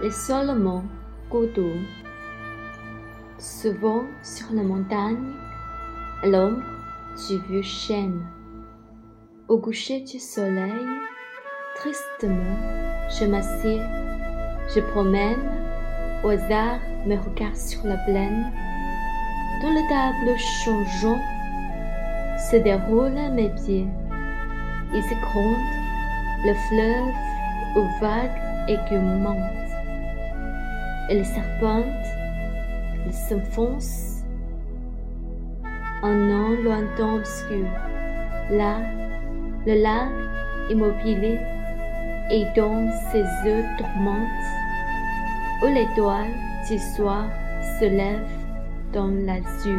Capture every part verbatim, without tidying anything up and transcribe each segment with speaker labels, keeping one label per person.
Speaker 1: l'isolement, Goudou. Souvent sur la montagne, à l'ombre du vieux chêne. Au coucher du soleil, tristement, je m'assieds, je promène, au hasard mes regards sur la plaine. Dans le tableau changeant, se déroulent à mes pieds. Ils écrondent le fleuve aux vagues écumantes. Et les serpentent, ils s'enfoncent en un lointain obscur. Là, le lac immobile et dans ses eaux tourmentes, où l'étoile du soir se lève dans l'azur.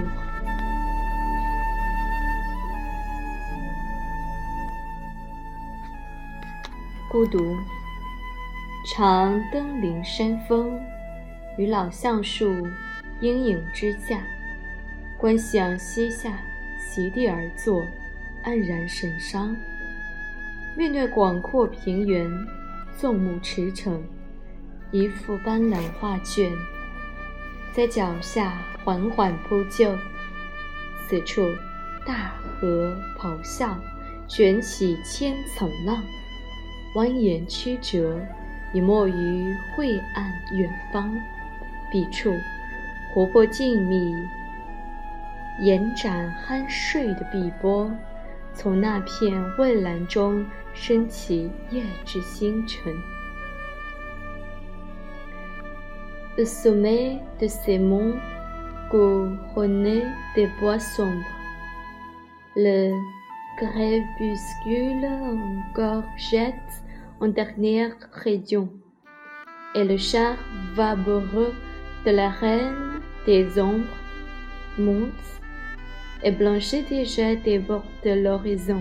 Speaker 1: 孤独，常登临山峰，于老橡树阴影之下，观想膝下席地而坐，黯然神伤。面对广阔平原，纵目驰骋，一幅斑斓画卷，在脚下缓缓铺就。此处大河咆哮，卷起千层浪，蜿蜒曲折，已没于晦暗远方。彼处活泼静谧，延展酣睡的碧波，从那片蔚蓝中升起夜之星辰。Au sommet de ces monts couronnés des bois sombres, le crépuscule encore jette en dernière région, et le char vaporeux de la reine des ombres monte et blanchit déjà des bords de l'horizon.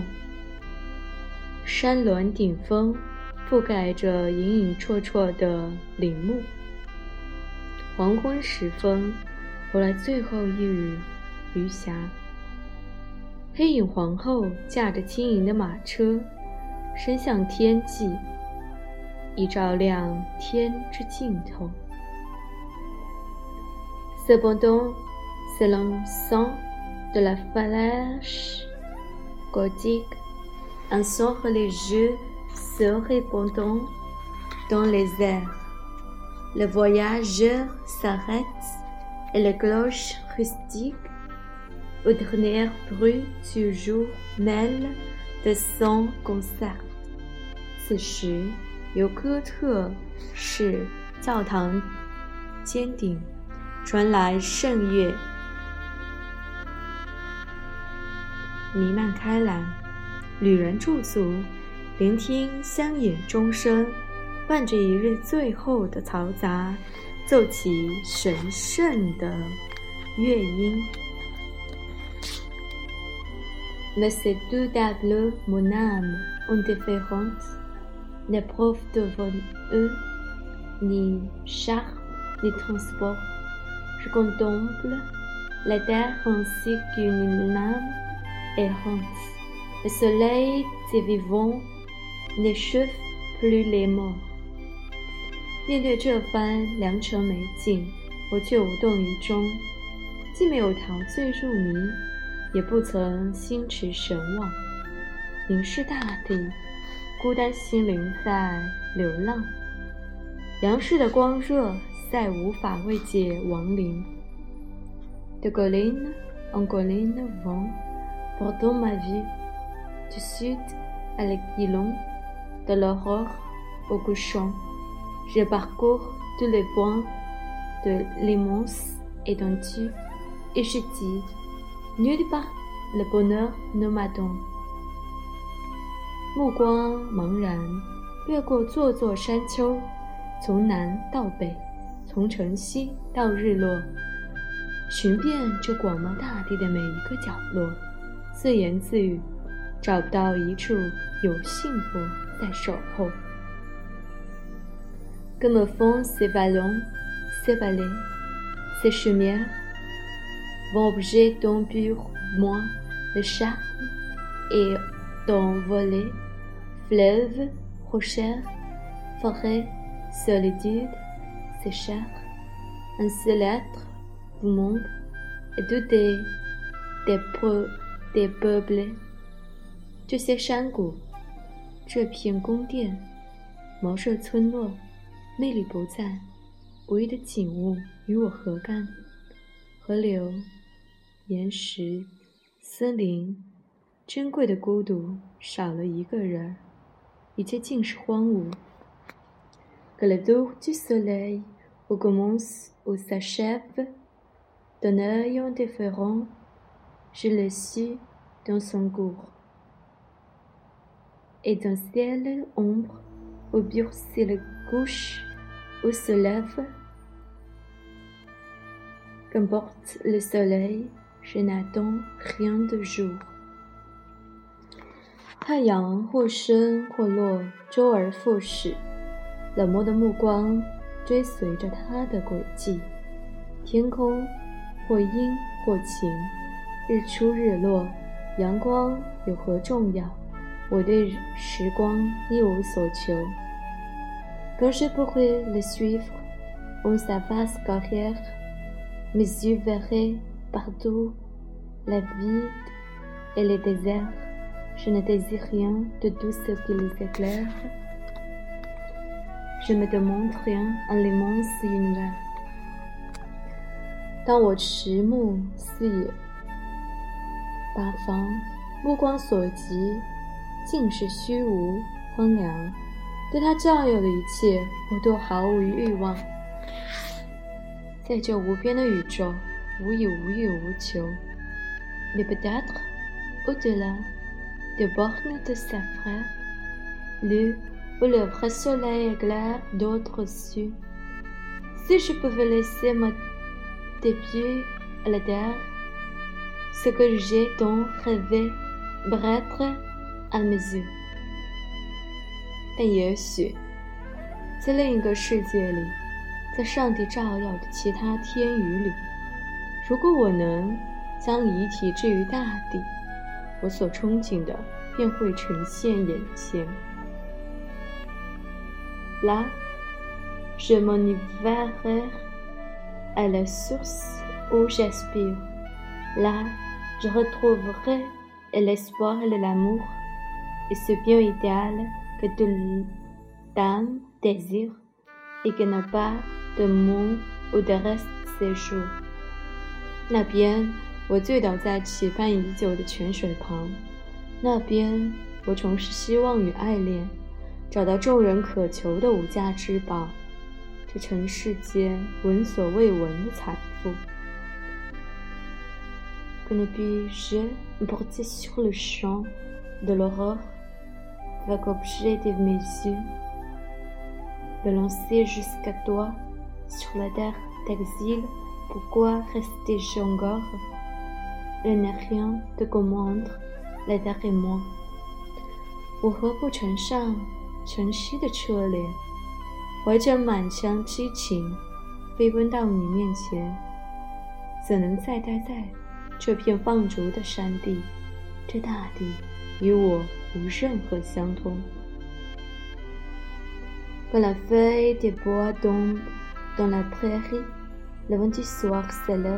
Speaker 1: 山峦顶峰覆盖着隐隐绰绰的林木。黄昏时分，回来最后一缕余霞。黑影皇后驾着轻盈的马车，伸向天际，以照亮天之尽头。Cependant, c'est l'encens de la flèche gothique, un son religieux se répandant dans les airs. Le voyageur s'arrête et les cloches rustiques, au dernier bruit du jour, mêlent de son concert. 此时，由哥特式教堂尖顶传来圣乐，弥漫开来。旅人驻足，聆听乡野钟声，伴着一日最后的嘈杂，奏起神圣的乐音。Mais ces deux tableaux, mon âme, indifférente, n'éprouve devant eux ni charme ni transport. Je contemple la terre ainsi qu'une âme errante. Le soleil des vivants n'échauffe plus les morts. 面对这番良辰美景，我却无动于衷，既没有陶醉入迷，也不曾心驰神往，凝视大地，孤单心灵在流浪。阳世的光热再无法慰藉亡灵。De colline en colline vont portant ma vie, du sud à l'aiguillon, de l'aurore au couchant. Je parcours tous les points de l'immense étendue et je dis, nulle part le bonheur ne m'attend. 目光茫然，越过座座山丘，从南到北，从晨曦到日落，寻遍这广袤大地的每一个角落，自言自语，找不到一处有幸福在守候。Que me font ces vallons, ces vallées, ces chaumières, vont objet dont pour moi le charme et d'envoler, fleuves, rochers, forêts, solitude, c'est cher. Un seul être du monde et tous des, des, peu, des peuples. 这些山谷，这片宫殿，茅舍村落，魅力不在，无意的景物与我何干？河流、岩石、森林，珍贵的孤独，少了一个人，一切尽是荒芜。Que le jour du soleil où commence ou s'achève, d'un œil indifférent, je le suis dans son cours. Et d'un ciel ombre, où se le couche ou se lève, qu'importe le soleil, je n'attends rien de jour. 太阳或升或落，周而复始，冷漠的目光追随着它的轨迹。天空或阴或晴，日出日落，阳光有何重要？我对时光一无所求。Quand je pourrais le suivre en sa vaste carrière, mes yeux verraient partout la vide et les déserts. Je ne désire rien de tout ce qui les éclaire. Je me demande rien en l'immense univers. 当我迟目四野八方，目光所及尽是虚无荒凉，对他占有的一切我都毫无欲望。在这无边的宇宙，无以无欲无求。Mais peut-être au-delà des bornes de sa frère, lieu où le vrai soleil éclaire d'autres cieux, si je pouvais laisser mon pieds à la terre, ce que j'ai tant rêvé brêtre à mes yeux. 但也许在另一个世界里，在上帝照耀的其他天宇里，如果我能将遗体置于大地，我所憧憬的便会呈现眼前。Là, je m'enivrerai à la source où j'aspire. Là, je retrouverai l'espoir et l'amour, et ce bien idéal que toute l'âme désire, et qui n'a pas de mot ou de reste séjour. 那边，我醉倒在期盼已久的泉水旁；那边，我重拾希望与爱恋，找到众人渴求的无价之宝，这尘世间闻所未闻的财富。Que ne puis-je porter sur le champ de l'aurore, avec objet de mes yeux, me lancer jusqu'à toi sur la terre d'exil, pourquoi rester-je encore? Je n'ai rien de commandre, la terre et moi. 我何不乘上晨曦的车帘，怀着满腔激情，飞奔到你面前？怎能再待在这片放逐的山地？这大地与我无任何相通。Quand la feuille des bois tombe dans la prairie, le vent du soir s'élève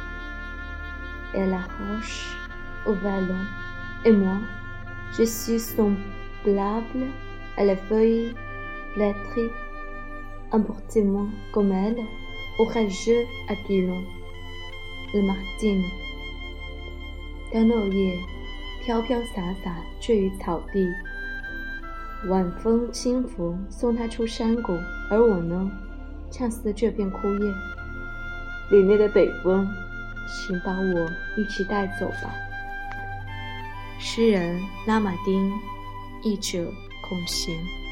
Speaker 1: et la roche au vallon, et moi, je suis semblable à la feuille flétrie, emportez-moi comme elle, orageux Aquilon, le Martin. 当落叶飘飘洒洒坠于草地，晚风轻拂送它出山谷，而我呢，恰似这片枯叶。凛冽的北风，请把我一起带走吧。诗人拉马丁，译者孔贤。